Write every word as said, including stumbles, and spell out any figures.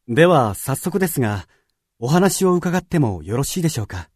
では早速ですが、お話を伺ってもよろしいでしょうか。